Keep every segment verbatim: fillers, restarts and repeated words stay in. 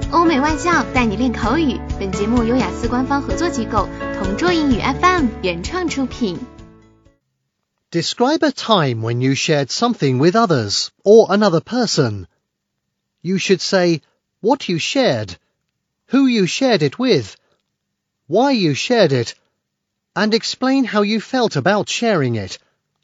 欧美外教带你练口语。本节目由雅思官方合作机构同桌英语 F M 原创出品。 Describe a time when you shared something with others or another person. You should say what you shared, who you shared it with, why you shared it, and explain how you felt about sharing it.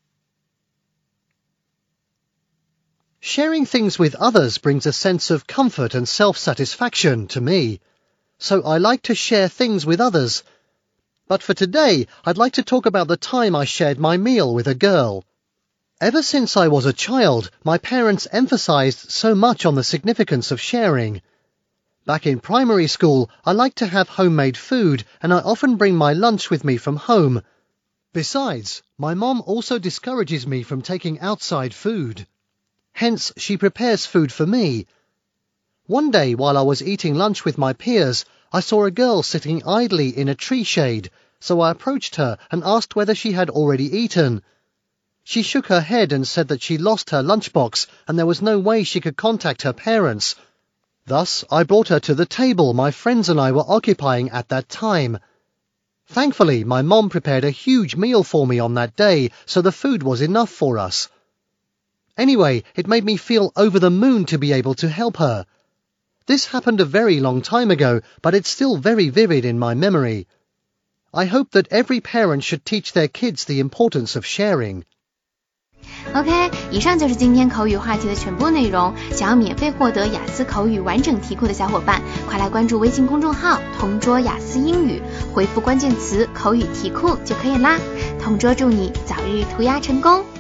Sharing things with others brings a sense of comfort and self-satisfaction to me, so I like to share things with others. But for today, I'd like to talk about the time I shared my meal with a girl. Ever since I was a child, my parents emphasized so much on the significance of sharing. Back in primary school, I liked to have homemade food, and I often bring my lunch with me from home. Besides, my mom also discourages me from taking outside food. Hence, she prepares food for me. One day, while I was eating lunch with my peers, I saw a girl sitting idly in a tree shade, so I approached her and asked whether she had already eaten. She shook her head and said that she lost her lunchbox and there was no way she could contact her parents. Thus, I brought her to the table my friends and I were occupying at that time. Thankfully, my mom prepared a huge meal for me on that day, so the food was enough for us. Anyway, it made me feel over the moon to be able to help her. This happened a very long time ago, but it's still very vivid in my memory. I hope that every parent should teach their kids the importance of sharing. OK， 以上就是今天口语话题的全部内容。想要免费获得雅思口语完整题库的小伙伴，快来关注微信公众号同桌雅思英语，回复关键词口语题库就可以啦。同桌祝你早日涂鸦成功。